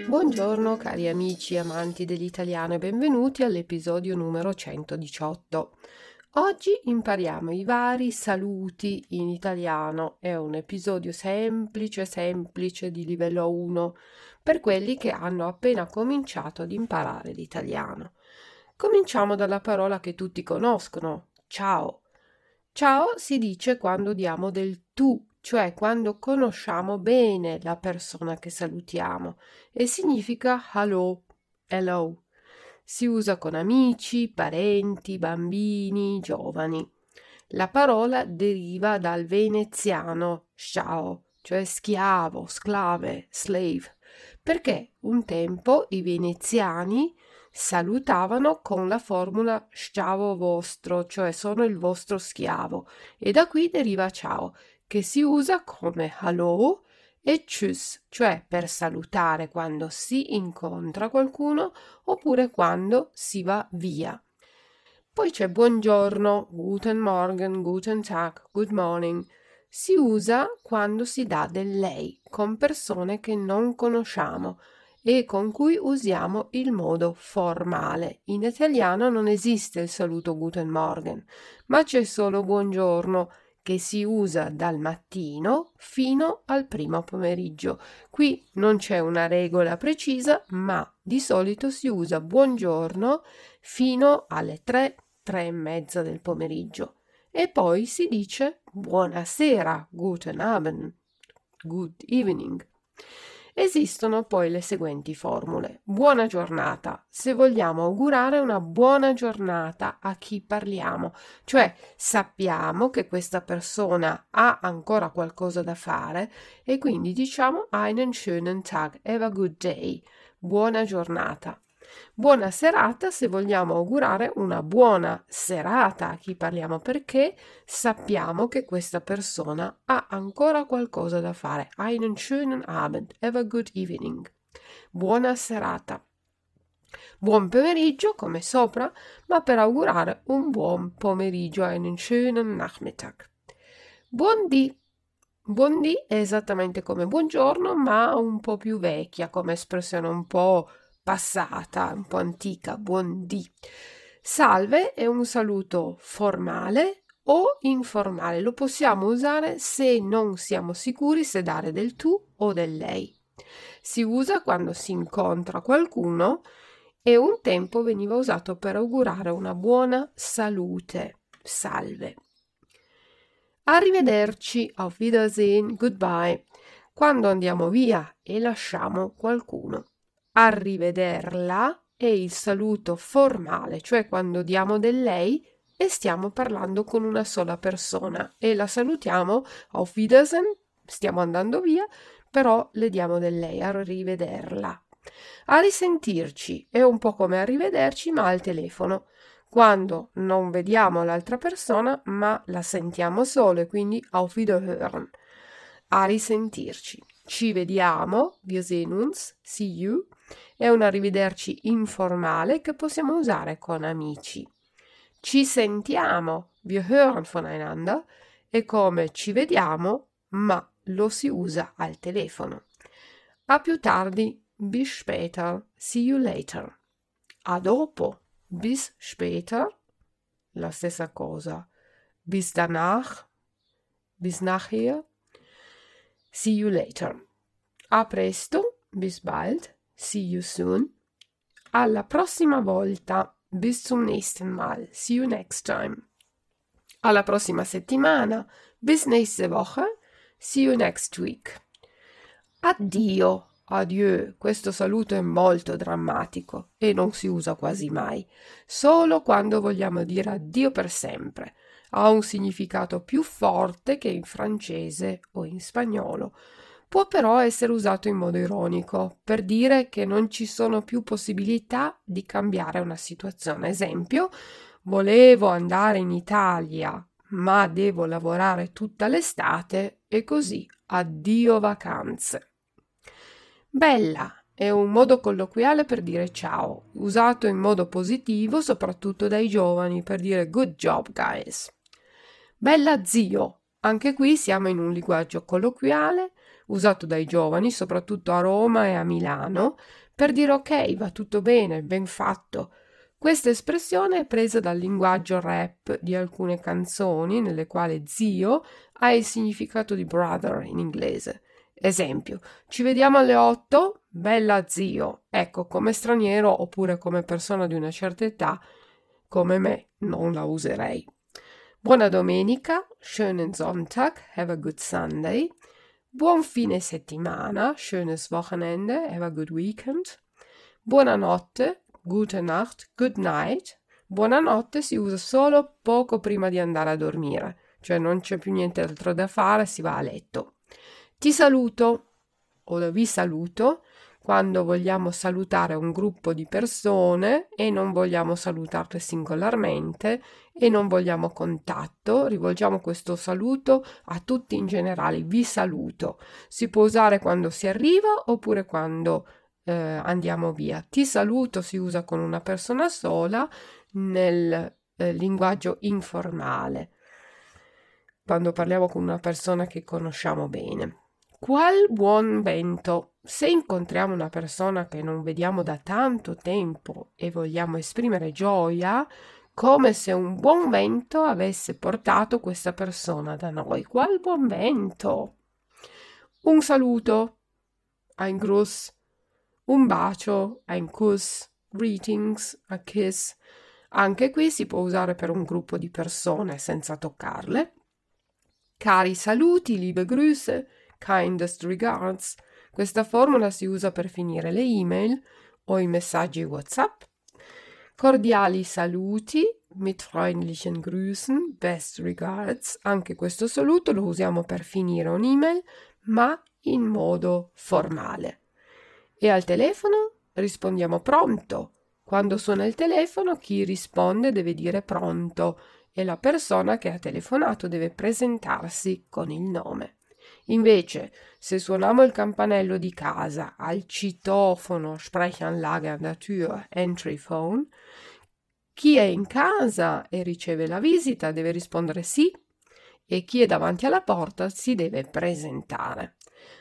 Buongiorno cari amici amanti dell'italiano e benvenuti all'episodio numero 118. Oggi impariamo i vari saluti in italiano. È un episodio semplice di livello 1 per quelli che hanno appena cominciato ad imparare l'italiano. Cominciamo dalla parola che tutti conoscono, ciao. Ciao si dice quando diamo del tu, cioè quando conosciamo bene la persona che salutiamo, e significa hello. Si usa con amici, parenti, bambini, giovani. La parola deriva dal veneziano ciao, cioè schiavo, sclave, slave, perché un tempo i veneziani salutavano con la formula schiavo vostro, cioè sono il vostro schiavo, e da qui deriva ciao, che si usa come hello e tschüss, cioè per salutare quando si incontra qualcuno oppure quando si va via. Poi c'è buongiorno, guten Morgen, guten Tag, good morning. Si usa quando si dà del lei con persone che non conosciamo e con cui usiamo il modo formale. In italiano non esiste il saluto Guten Morgen, ma c'è solo buongiorno che si usa dal mattino fino al primo pomeriggio. Qui non c'è una regola precisa, ma di solito si usa buongiorno fino alle 3 e mezza del pomeriggio. E poi si dice buonasera, Guten Abend, good evening. Esistono poi le seguenti formule. Buona giornata, se vogliamo augurare una buona giornata a chi parliamo, cioè sappiamo che questa persona ha ancora qualcosa da fare e quindi diciamo einen schönen Tag, have a good day, buona giornata. Buona serata se vogliamo augurare una buona serata a chi parliamo perché sappiamo che questa persona ha ancora qualcosa da fare. Einen schönen Abend, have a good evening. Buona serata. Buon pomeriggio come sopra, ma per augurare un buon pomeriggio, einen schönen Nachmittag. Buondì. Buondì è esattamente come buongiorno, ma un po' più vecchia come espressione, un po' passata, un po' antica, buondì. Salve è un saluto formale o informale, lo possiamo usare se non siamo sicuri se dare del tu o del lei. Si usa quando si incontra qualcuno e un tempo veniva usato per augurare una buona salute, salve. Arrivederci, auf Wiedersehen, goodbye, quando andiamo via e lasciamo qualcuno. Arrivederla è il saluto formale, cioè quando diamo del lei e stiamo parlando con una sola persona e la salutiamo auf Wiedersehen, stiamo andando via, però le diamo del lei, arrivederla. A risentirci è un po' come arrivederci ma al telefono, quando non vediamo l'altra persona ma la sentiamo solo e quindi auf Wiederhören. A risentirci. Ci vediamo, wir sehen uns, see you, è un arrivederci informale che possiamo usare con amici. Ci sentiamo, wir hören voneinander, è come ci vediamo, ma lo si usa al telefono. A più tardi, bis später, see you later. A dopo, bis später, la stessa cosa. Bis danach, bis nachher, see you later. A presto, bis bald, see you soon. Alla prossima volta, bis zum nächsten Mal, see you next time. Alla prossima settimana, bis nächste Woche, see you next week. Addio, adieu, questo saluto è molto drammatico e non si usa quasi mai, solo quando vogliamo dire addio per sempre. Ha un significato più forte che in francese o in spagnolo. Può però essere usato in modo ironico, per dire che non ci sono più possibilità di cambiare una situazione. Esempio, volevo andare in Italia, ma devo lavorare tutta l'estate e così addio vacanze. Bella è un modo colloquiale per dire ciao, usato in modo positivo soprattutto dai giovani per dire good job guys. Bella zio, anche qui siamo in un linguaggio colloquiale usato dai giovani, soprattutto a Roma e a Milano, per dire ok, va tutto bene, ben fatto. Questa espressione è presa dal linguaggio rap di alcune canzoni nelle quali zio ha il significato di brother in inglese. Esempio, ci vediamo alle 8? Bella zio. Ecco, come straniero oppure come persona di una certa età, come me, non la userei. Buona domenica, schönen Sonntag, have a good Sunday. Buon fine settimana, schönes Wochenende, have a good weekend. Buonanotte, gute Nacht, good night. Buonanotte si usa solo poco prima di andare a dormire, cioè non c'è più niente altro da fare, si va a letto. Ti saluto o vi saluto quando vogliamo salutare un gruppo di persone e non vogliamo salutarle singolarmente e non vogliamo contatto, rivolgiamo questo saluto a tutti in generale. Vi saluto. Si può usare quando si arriva oppure quando andiamo via. Ti saluto si usa con una persona sola nel linguaggio informale, quando parliamo con una persona che conosciamo bene. Qual buon vento! Se incontriamo una persona che non vediamo da tanto tempo e vogliamo esprimere gioia, come se un buon vento avesse portato questa persona da noi. Qual buon vento! Un saluto, ein Gruß, un bacio, ein Kuss, greetings, a kiss. Anche qui si può usare per un gruppo di persone senza toccarle. Cari saluti, liebe Grüße, kindest regards. Questa formula si usa per finire le email o i messaggi WhatsApp. Cordiali saluti, mit freundlichen Grüßen, best regards. Anche questo saluto lo usiamo per finire un'email, ma in modo formale. E al telefono rispondiamo pronto. Quando suona il telefono, chi risponde deve dire pronto e la persona che ha telefonato deve presentarsi con il nome. Invece, se suoniamo il campanello di casa, al citofono, Sprechanlage an der Tür, Entry Phone, chi è in casa e riceve la visita deve rispondere sì e chi è davanti alla porta si deve presentare.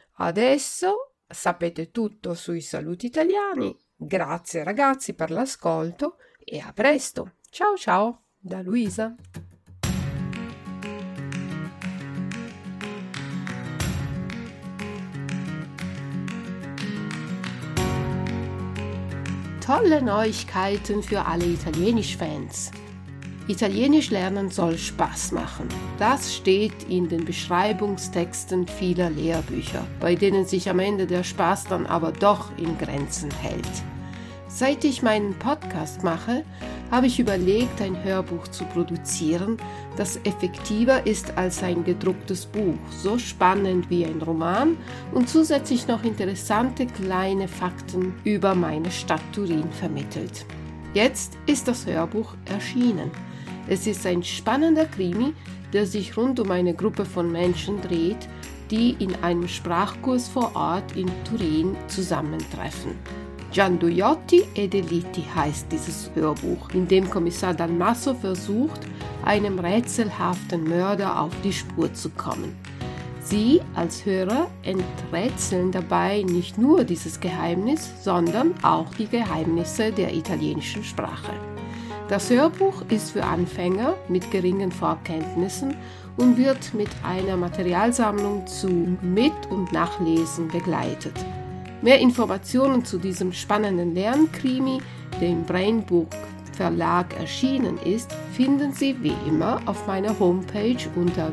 Adesso sapete tutto sui saluti italiani. Grazie ragazzi per l'ascolto e a presto. Ciao ciao da Luisa. Tolle Neuigkeiten für alle Italienisch-Fans. Italienisch lernen soll Spaß machen. Das steht in den Beschreibungstexten vieler Lehrbücher, bei denen sich am Ende der Spaß dann aber doch in Grenzen hält. Seit ich meinen Podcast mache, habe ich überlegt, ein Hörbuch zu produzieren, das effektiver ist als ein gedrucktes Buch, so spannend wie ein Roman und zusätzlich noch interessante kleine Fakten über meine Stadt Turin vermittelt. Jetzt ist das Hörbuch erschienen. Es ist ein spannender Krimi, der sich rund um eine Gruppe von Menschen dreht, die in einem Sprachkurs vor Ort in Turin zusammentreffen. Gianduiotti e Delitti heißt dieses Hörbuch, in dem Kommissar Dalmasso versucht, einem rätselhaften Mörder auf die Spur zu kommen. Sie als Hörer enträtseln dabei nicht nur dieses Geheimnis, sondern auch die Geheimnisse der italienischen Sprache. Das Hörbuch ist für Anfänger mit geringen Vorkenntnissen und wird mit einer Materialsammlung zu Mit- und Nachlesen begleitet. Mehr Informationen zu diesem spannenden Lernkrimi, der im Brainbook Verlag erschienen ist, finden Sie wie immer auf meiner Homepage unter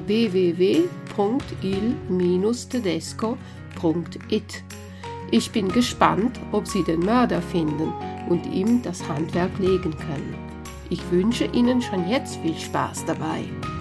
www.il-tedesco.it. Ich bin gespannt, ob Sie den Mörder finden und ihm das Handwerk legen können. Ich wünsche Ihnen schon jetzt viel Spaß dabei.